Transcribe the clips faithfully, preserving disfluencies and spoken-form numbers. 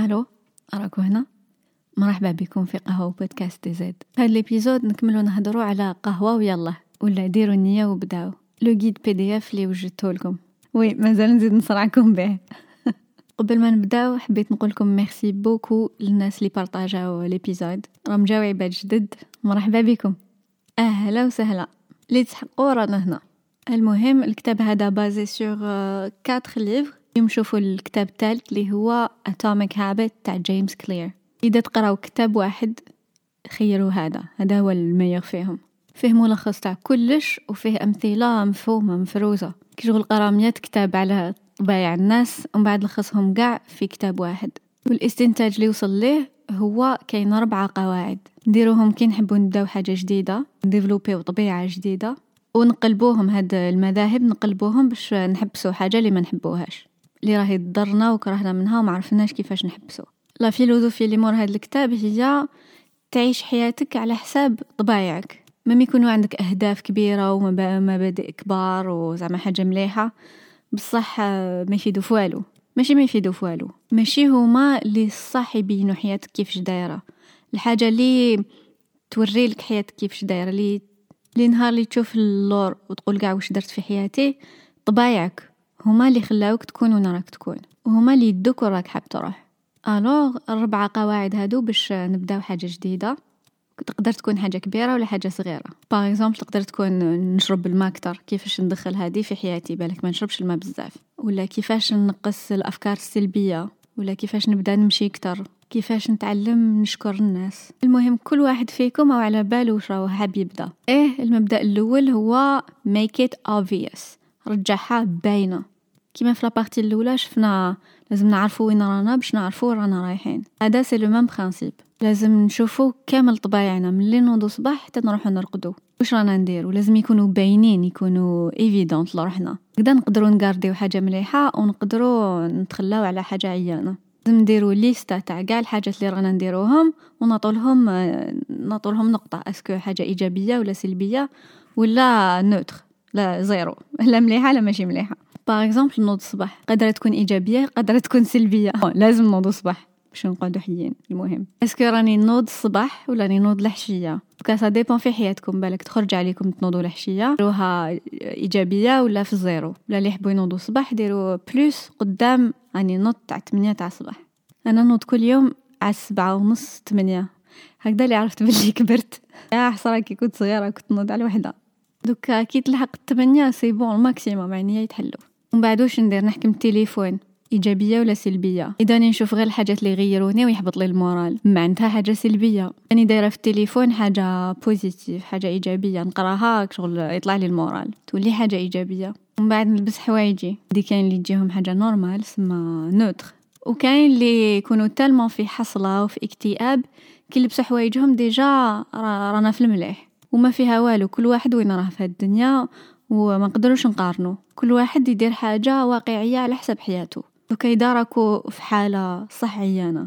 الو راكو هنا. مرحبا بكم في قهوه بودكاست دي زد. هاد الابيزود نكملوا نهضروا على قهوه ويلا ولا ديروا النيه وبداو. لو غيد بي دي اف اللي وجدته لكم وي مازال نزيد نصرعكم به. قبل ما نبداو حبيت نقول لكم ميرسي بوكو للناس اللي بارطاجاو الابيزود، راهم جاو عباد جدد. مرحبا بكم، اهلا وسهلا. اللي تحقوا رانا هنا. المهم الكتاب هذا بازي سور كاتر ليفر. اليوم نشوفوا الكتاب الثالث اللي هو Atomic Habit تاع جيمس كلير. إذا تقراو كتاب واحد خيروا هذا، هذا هو الميور فيهم. فيه ملخص تاع كلش وفيه أمثلة مفهومة مفروزة. كي شغل قرا مية كتاب على طبايع الناس ومن بعد لخصهم قاع في كتاب واحد. والاستنتاج اللي وصل ليه هو كاين أربعة قواعد نديروهم كي نحبوا نبداو حاجة جديدة، نديفلوبيو طبيعة جديدة، ونقلبوهم هاد المذاهب نقلبوهم باش نحبسوا حاجة اللي ما نحبوهاش، اللي راهي تضرنا وكرهنا منها وما عرفناش كيفاش نحبسوا. لا فيلوزوفي اللي مور هاد الكتاب هي تعيش حياتك على حساب طبايعك. ما يكونوا عندك أهداف كبيرة ومبادئ كبار وزعما حاجة مليحة، بصح ما يفيدوا فوالو. ماشي ما يفيدوا فوالو، ماشي هما اللي صح يبينوا حياتك كيفاش دايرة. الحاجة اللي توري لك حياتك كيفاش دايرة، اللي اللي نهار اللي تشوف اللور وتقول قاع واش درت في حياتي، طبايعك هما اللي خلاوك تكون وين راك تكون، وهما اللي يدوك وراك حاب تروح. الوغ الربعة قواعد هادو باش نبداو حاجة جديدة. تقدر تكون حاجة كبيرة ولا حاجة صغيرة. باغ اكزومبل تقدر تكون نشرب الماء اكثر، كيفاش ندخل هذه في حياتي، بالك ما نشربش الماء بزاف، ولا كيفاش نقص الافكار السلبية، ولا كيفاش نبدا نمشي اكثر، كيفاش نتعلم نشكر الناس. المهم كل واحد فيكم او على باله واش راه حاب يبدا. ايه المبدأ الاول هو make it obvious، رجعها باينه. كيما في لابارتي الاولى شفنا لازم نعرفوا وين رانا باش نعرفوا رانا رايحين. هذا سي لو ميم برينسيپ. لازم نشوفوا كامل طبايعنا من اللي نوضو صباح حتى نروحوا نرقدوا واش رانا ندير، ولازم يكونوا باينين، يكونوا ايفيدونت لروحنا. كدا نقدروا نغارديو حاجه مليحه ونقدروا نتخلاو على حاجه عيانه. لازم نديروا ليستا تاع كاع الحاجات اللي رانا نديروهم ونعطولهم نعطولهم نقطه، اسكو حاجه ايجابيه ولا سلبيه ولا نوتر، لا زيرو، لا مليحه لا ماشي مليحه. باغ اكزومبل نوض الصباح قادره تكون ايجابيه قادره تكون سلبيه. لازم نوض الصباح باش نقعدوا حيين. المهم اسكو راني نوض الصباح ولا راني نوض العشيه، كا سا ديبون في حياتكم. بالك تخرج عليكم تنوضوا العشيه روها ايجابيه ولا في الزيرو. ولا اللي يحبوا ينوضوا الصباح ديروا بلوس قدام. راني نوض تاع ثمانية تاع الصباح. انا نوض كل يوم على سبعة ونص ثمانية. هكذا اللي عرفت باللي كبرت. يا حسره كي كنت صغيره كنت نوض على وحده. دوكا كي تلحق الثمانية سي بون الماكسيموم، يعني يتحلوا. ومن بعد واش ندير؟ نحكم التليفون ايجابيه ولا سلبيه. اذا نشوف غير الحاجات اللي يغيروني ويحبط لي المورال معناتها حاجه سلبيه. اني دايره في التليفون حاجه بوزيتيف، حاجه ايجابيه، نقراها شغل يطلع لي المورال، تولي حاجه ايجابيه. ومن بعد نلبس حوايجي. دي كاين اللي يجيهم حاجه نورمال سما نوتر، وكاين اللي يكونوا تالمون في حصله وفي اكتئاب كي يلبسوا حوايجهم ديجا رانا في المليح وما فيها والو. كل واحد وين راه في الدنيا وما نقدروش نقارنوا. كل واحد يدير حاجه واقعيه على حسب حياته. دوكا اذا راكو في حاله صحيانه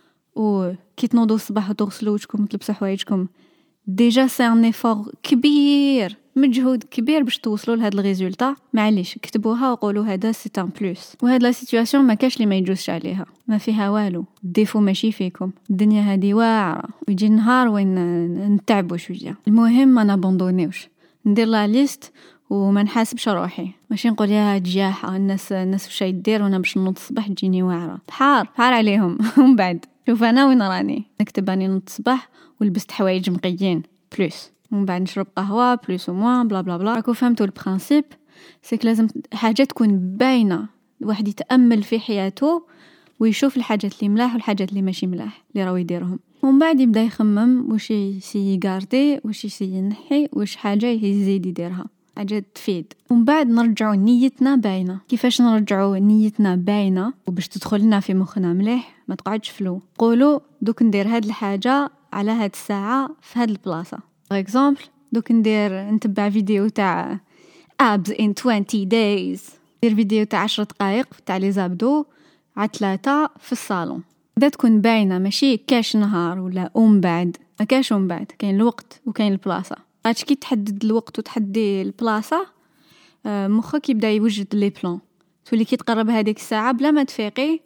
وكي تنوضوا الصباح وتغسلوا وجهكم وتلبسوا حوايجكم، ديجا سي ان ايفور كبير، مجهود كبير باش توصلوا لهاد الريزولطا. معليش كتبوها وقولوا هذا سي ان بلوس. وهاد لا سيتوياسيون ما كاش اللي ما يجوزش عليها، ما فيها والو. الديفو ماشي فيكم، الدنيا هذه واعره ويجي النهار وين نتعبوا شويه. المهم ما نابوندونيوش، ندير لا ليست وما نحاسبش روحي. ماشي نقول يا جياحه الناس الناس واش يدير وانا باش نوض الصباح تجيني واعره. بحار بحار عليهم. ومن بعد شوف انا وين راني، نكتب اني نوض الصباح ولبست حوايج مقيين بلوس، ومن بعد نشرب قهوه بلوس وموان بلا بلا بلا. راكو فهمتوا البرانسيپ؟ سيك لازم حاجه تكون باينه. الواحد يتامل في حياته ويشوف الحاجات اللي ملاح والحاجات اللي ماشي ملاح اللي راهو يديرهم، ومن بعد يبدا يخمم واش يسي يغاردي واش يسي ينحي واش حاجه يزيد يديرها حاجه تفيد. ومن بعد نرجعوا نيتنا باينه. كيفاش نرجعوا نيتنا باينه وباش تدخلنا في مخنا مليح؟ ما تقعدش فلو. قولوا دوك ندير هاد الحاجه على هاد الساعه في هاد البلاصه. باغ اكزومبل دوك ندير نتبع فيديو تاع abs in twenty days، ندير فيديو تاع عشر دقائق تاع لي زابدو على ثلاثة في الصالون. دا تكون باينه، ماشي كاش نهار ولا ومن بعد. ما كاش ومن بعد، كاين الوقت وكاين البلاصه. عاد كي تحدد الوقت وتحدي البلاصه مخك يبدا يوجد لي بلان. تولي كي تقرب هذيك الساعه بلا ما تفيقي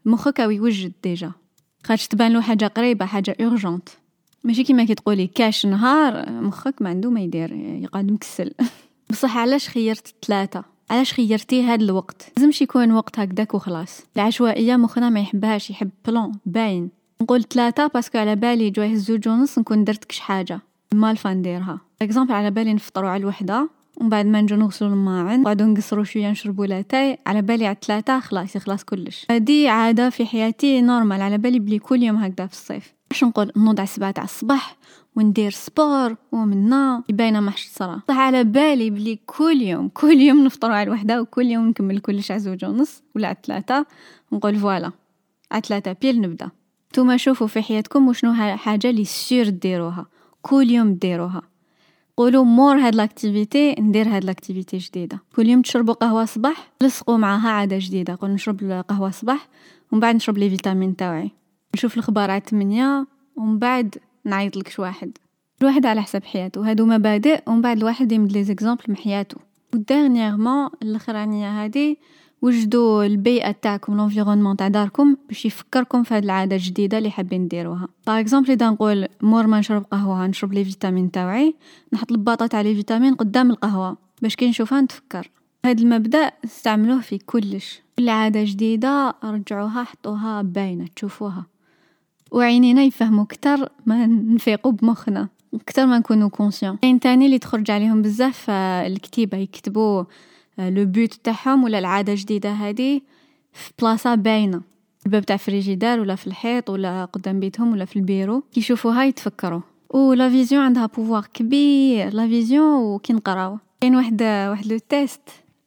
مخك او يوجد ديجا، خاطش تبان له حاجه قريبه، حاجه اورجونت. ماشي كيما كي تقولي كاش نهار مخك ما عنده ما يدير، يقعد مكسل. بصح علاش خيرت ثلاثة؟ علاش خيرتي هذا الوقت؟ لازمش يكون وقت هكذاك وخلاص. العشوائيه مخنا ما يحبهاش، يحب بلان باين. نقول ثلاثة باسكو على بالي جواه الزوج ونص نكون درت كش حاجه مالفا نديرها. اكزامبل على بالي نفطروا على الوحده ومن بعد ما نجو نغسلوا الماعن نقعدوا نقصروا شويه نشربوا لاتاي، على بالي على ثلاثة خلاص يخلص كلش. هذه عاده في حياتي نورمال، على بالي بلي كل يوم هكذا في الصيف. باش نقول نوض على سبعة تاع الصباح وندير سبور ومنا يبينا ما حش صرا، صح على بالي بلي كل يوم كل يوم نفطروا على الوحده وكل يوم نكمل كلش على زوج ونص ولا على ثلاثة. نقول فوالا على ثلاثة بيل نبدا. نتوما شوفوا في حياتكم وشنو حاجه اللي سير ديروها كل يوم ديروها. قولوا مور هاد لاكتيفيتي ندير هاد لاكتيفيتي جديده. كل يوم تشربوا قهوه صباح، لصقوا معها عاده جديده. قول نشرب القهوه صباح ومن بعد نشرب لي فيتامين تاعي، نشوف الاخبار على ثمانية ومن بعد نعيط لك واحد. الواحد على حسب حياته، هادو مبادئ ومن بعد الواحد يمد لي زيكزامبل من حياته. وديرنييرمون الاخرانيه هذه وجدوا البيئه تاعكم، لونفيرونمون تاع داركم باش يفكركم في هاد العاده الجديده اللي حابين نديروها. باغ اكزومبل اذا نقول مور ما نشرب قهوه نشرب لي فيتامين تاعي، نحط الباطه تاع لي فيتامين قدام القهوه باش كي نشوفها نتفكر. هاد المبدا استعملوه في كلش. كل عاده جديده رجعوها حطوها باينه تشوفوها، وعينينا يفهموا اكثر ما نفيقوا بمخنا، اكثر ما نكونوا كونسيون. كاين تاني اللي تخرج عليهم بزاف الكتيبه، يكتبوا لو بوت تاعهم ولا العاده الجديده هذه في بلاصه باينه، الباب تاع فريجيدار ولا في الحيط ولا قدام بيتهم ولا في البيرو، كي يشوفوها يتفكروا. ولا فيزيون عندها بوفوار كبير، لا فيزيون. وكي نقراو كاين واحد واحد لو تيست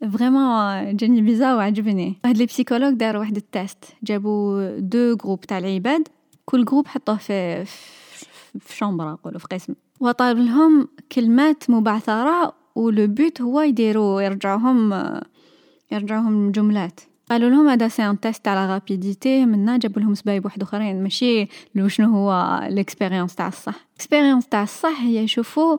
فريمون جاني بيزا وعجبني. واحد لي بسيكولوج داروا واحد التيست، جابوا دو جروب تاع العباد، كل جروب حطوه في في شامبرا نقولوا في قسم، وطالب لهم كلمات مبعثره، ولو بوت هو يديروا يرجعوهم يرجعوهم جملات. قالوا لهم هذا سي ان تيست على رابيديتي، منا جابوا لهم سبايب واحد اخرين، ماشي لو شنو هو الاكسبيريونس تاع الصح. الاكسبيريونس تاع الصح هي يشوفوا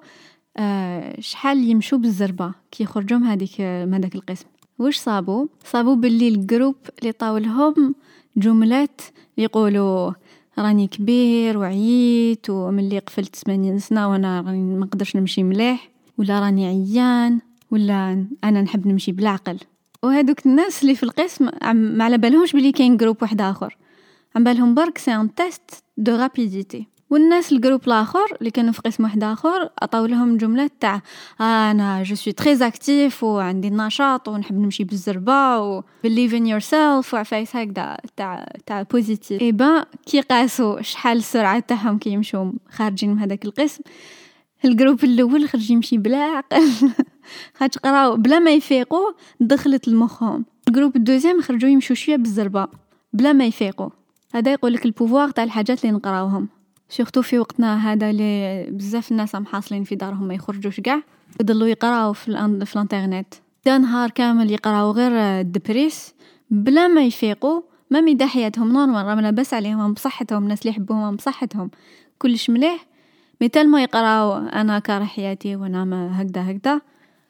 آه شحال يمشوا بالزربه كي يخرجوهم هذيك من هذاك القسم. واش صابوا صابوا باللي الجروب اللي طاولهم جملات يقولوا راني كبير وعييت وملي قفلت ثمانين سنه وانا راني ما نقدرش نمشي مليح، ولا راني عيان، ولا انا نحب نمشي بالعقل. وهذوك الناس اللي في القسم ما على بالهمش بلي كاين جروب واحد اخر، عم بالهم برك سي ان تيست دو رابيديتي. والناس الجروب الاخر اللي كانوا في قسم واحد اخر عطاو لهم جملات تاع انا جو سوي تري اكتيف وعندي النشاط ونحب نمشي بالزربه و believe in yourself وعفايس هكذا تاع تاع بوزيتيف. اي با كي قاسوا شحال السرعه تاعهم كي يمشوا خارجين من هذاك القسم، الجروب الاول خرج يمشي بلا عقل خاطر قراو بلا ما يفيقوا دخلت لمخهم. الجروب الدوزيام خرجوا يمشوا شويه بالزربه بلا ما يفيقوا. هذا يقول لك البوفوار تاع الحاجات اللي نقراوهم، سورتو في وقتنا هذا اللي بزاف الناس محاصلين في دارهم ما يخرجوش كاع، يضلوا يقراو في الان في الانترنت دا نهار كامل، يقراو غير الدبريس بلا ما يفيقوا. ما ميدا حياتهم نورمال، راه لاباس عليهم بصحتهم، الناس اللي يحبوهم بصحتهم كلش مليح، مثل ما يقراو انا كاره حياتي وانا ما هكذا هكذا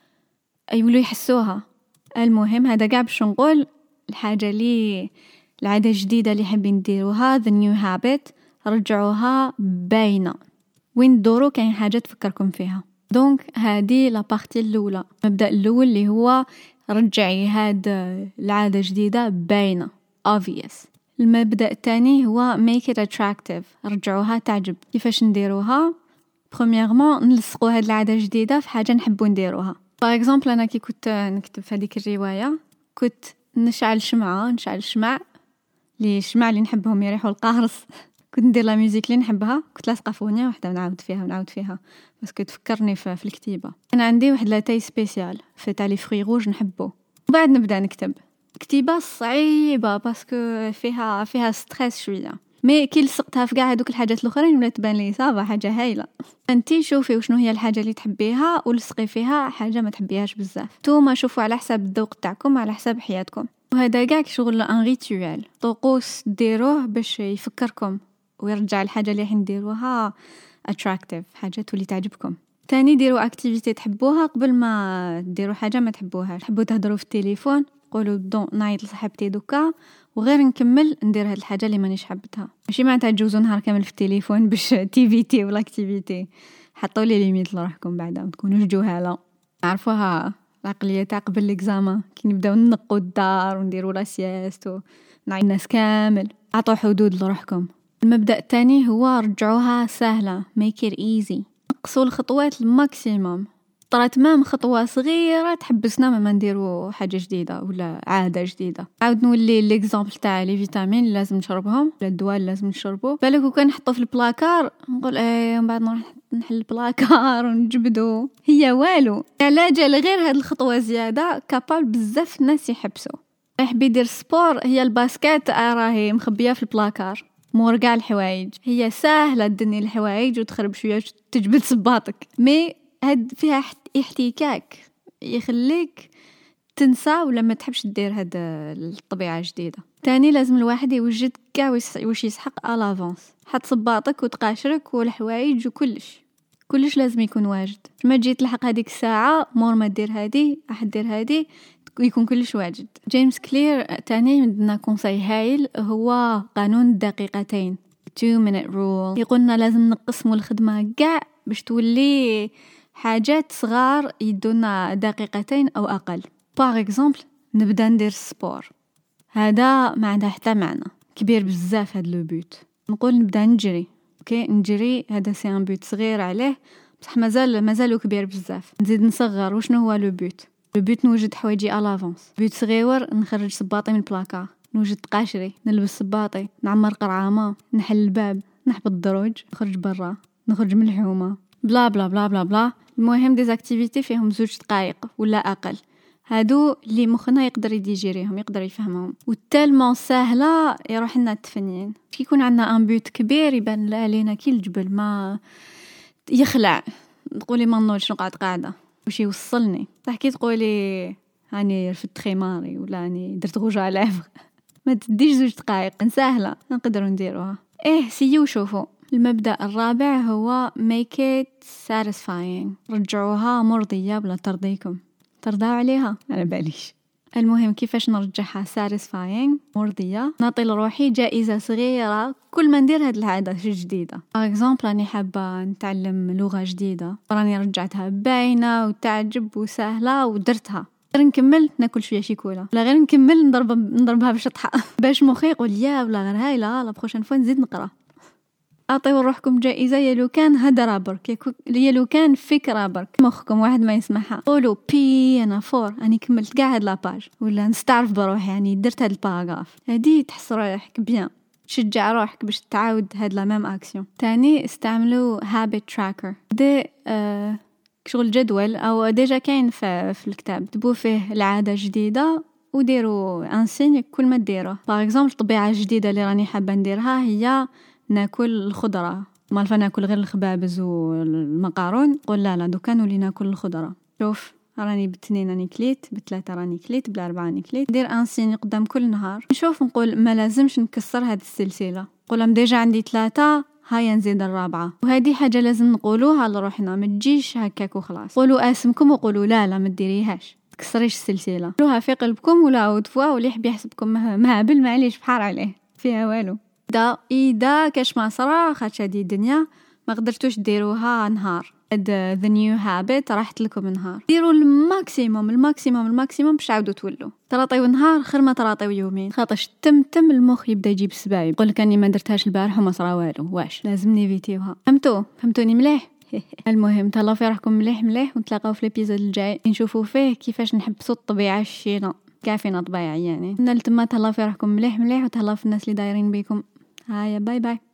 يولوا يحسوها. المهم هذا كاع باش نقول الحاجه اللي العاده الجديده اللي حابين نديروها the new habit رجعوها باينه وين دورو كاين حاجه تفكركم فيها. دونك هذه لا بارتي الاولى، المبدا الاول اللي هو رجعي هاد العاده الجديده باينه obvious. المبدا الثاني هو make it attractive، رجعوها تعجب. كيفاش نديروها؟ premièrement نلصقوا هاد العاده الجديده في حاجه نحبوا نديروها. باغ اكزومبل انا كي كنت نكتب في هذيك الروايه كنت نشعل شمعه نشعل الشمع لي الشمع اللي نحبهم يريحوا القارص كنت ندير لا ميوزيك اللي نحبها، كنت لاصقه في اغنيه واحده ونعاود فيها ونعاود فيها بس كنت تفكرني في, في الكتيبه. انا عندي واحد لاتاي سبيسيال في تاع لي فري روج نحبه، وبعد نبدا نكتب. كتيبه صعيبه باسكو فيها فيها ستريس شويه، مي كي لصقتها في كاع هذوك الحاجات الاخرين ولا تبان لي صافا حاجه هايله. انتي شوفي وشنو هي الحاجه اللي تحبيها ولصقي فيها حاجه ما تحبيهاش بزاف. نتوما شوفوا على حساب الذوق تاعكم على حساب حياتكم. وهذا كاع شغل ان ريتوال، طقوس ديروه باش يفكركم ويرجع الحاجه اللي حنديروها attractive، حاجه تولي تعجبكم. تاني ديروا اكتيفيتي تحبوها قبل ما ديروا حاجه ما تحبوهاش. تحبوا تهضروا في التليفون قولوا دون نايض لصاحبتي دوكا وغير نكمل ندير هاد الحاجه اللي مانيش حبتها. ماشي معناتها تجوزوا نهار كامل في التليفون باش تيفيتي ولا اكتيفيتي. حطوا لي ليميت لروحكم بعدا ما تكونوش جهاله. عرفوها العقليه تاع قبل ليكزامان كي نبداو ننقوا الدار ونديروا لا سياست ونعي الناس كامل. عطوا حدود لروحكم. المبدا الثاني هو رجعوها سهله make it easy. نقصوا الخطوات الماكسيموم. طرات مام خطوه صغيره تحبسنا ما نديروا حاجه جديده ولا عاده جديده. عاود نولي ليكزامبل تاع لي فيتامين اللي لازم نشربهم ولا الدواء اللي لازم نشربه. بالك وكان نحطه في البلاكار نقول ايه ومن بعد نروح نحل البلاكار ونجبدو. هي والو علاجه لغير هاد الخطوه زياده كابابل بزاف الناس يحبسوا. يحب يدير سبور. هي الباسكيت راهي مخبيه في البلاكار مور كاع الحوايج. هي سهله تدني الحوايج وتخرب شويه تجبد صباطك مي هاد فيها احتكاك يخليك تنسى ولا ما تحبش دير هاد الطبيعه جديده. تاني لازم الواحد يوجد كاع واش يسحق الافونس. حط صباطك وتقاشرك والحوايج وكلش كلش لازم يكون واجد. ما تجي تلحق هذيك الساعه مور ما دير هادي راح دير هادي يكون كلش واجد. جيمس كلير تاني عندنا كونساي هايل هو قانون الدقيقتين two minute rule. يقولنا لازم نقسموا الخدمه كاع باش تولي حاجات صغار يدونا دقيقتين او اقل. باغ اكزومبل نبدا ندير سبور هذا ما عنده حتى معنى كبير بزاف. هاد لو بوت نقول نبدا نجري اوكي نجري هذا سي ان بوت صغير عليه بصح مازال مازالو كبير بزاف. نزيد نصغر وشنو هو لو بوت؟ لو بوت نوجد حوايجي الافونس. بوت صغير نخرج صباطي من البلاكار نوجد قاشري نلبس صباطي نعمر قرعامه نحل الباب نحبط الدروج نخرج برا نخرج من الحومه بلا بلا بلا بلا بلا. المهم ديزاكتيفيتي فيهم زوج دقائق ولا اقل. هادو اللي مخنا يقدر يديجيريهم يقدر يفهمهم وتالمون سهله يروح لنا التفنين. كي يكون عندنا ان بوت كبير يبان علينا كي الجبل ما يخلع. تقولي ما نوضش نقعد قاعده واش يوصلني. تحكي تقولي هاني رفدت خماري ولا هاني درت غوج على لافغ ما تديش زوج دقائق سهله نقدروا نديروها. ايه سيو شوفوا. المبدأ الرابع هو make it satisfying. رجعوها مرضية بلا ترضيكم. ترضاو عليها على باليش. المهم كيفاش نرجعها satisfying مرضية. نعطي لروحي جائزة صغيرة كل ما ندير هاد العادة جديدة. par exemple راني حابة نتعلم لغة جديدة راني رجعتها باينة وتعجب وسهلة ودرتها. غير نكمل ناكل شويه شيكولا لا غير نكمل نضرب نضربها بالشطحه باش مخي يقول يا ولا غير هايله لا بروشين فوا نزيد نقرا. اعطيو روحكم جائزه يا لو كان هدره برك يا لو كان فكره برك مخكم واحد ما يسمعها. قولوا بي انا فور اني كملت كاع هاد لاباج ولا نستعرف بروحي يعني درت هاد الباراغراف. هادي تحس روحك بيان تشجع روحك باش تعاود هاد لا ميم اكسيون. تاني استعملوا هابيت تراكر. دي آه شغل جدول او ديجا كاين في, في الكتاب تبو فيه العاده جديده وديروا انسين كل ما ديروه. باغ اكزومبل طبيعه جديده اللي راني حابه نديرها هي ناكل الخضره. ما الفا ناكل غير الخبابز والمقارون قول لا لا دوكا نولي ناكل الخضره. شوف راني باثنين راني كليت بثلاثه راني كليت بالاربعه راني كليت. دير انسين قدام كل نهار. نشوف نقول ما لازمش نكسر هذه السلسله. نقول ديجا عندي ثلاثه هيا نزيد الرابعه. وهذه حاجه لازم نقولوها لروحنا ما تجيش هكاك وخلاص. قولوا اسمكم وقولوا لا لا ما ديريهاش تكسريش السلسله. قولوها في قلبكم ولا عودفوا واللي يحب يحسبكم مهبل معليش بحار عليه فيها والو. دا اذا كاش ما صرا خاطش هذه الدنيا ما قدرتوش ديروها نهار هاد the new habit راحت لكم نهار. ديروا الماكسيموم الماكسيموم الماكسيموم باش تعاودوا تولوا. تراطيو نهار خير ما تراطيو يومين خاطرش تم تم المخ يبدا يجيب السبايب يقول لك اني ما درتهاش البارح وما صرا والو واش لازم نيفيتيوها. فهمتوا فهمتوني مليح. المهم تهلاو في روحكم مليح مليح ونتلاقاو في الابيزود الجاي نشوفوا فيه كيفاش نحبسوا الطبيعه الشينه كافينا طبيعي يعني. نلتما تهلاو في روحكم مليح مليح وتهلاو في الناس اللي دايرين بيكم. هايا باي باي.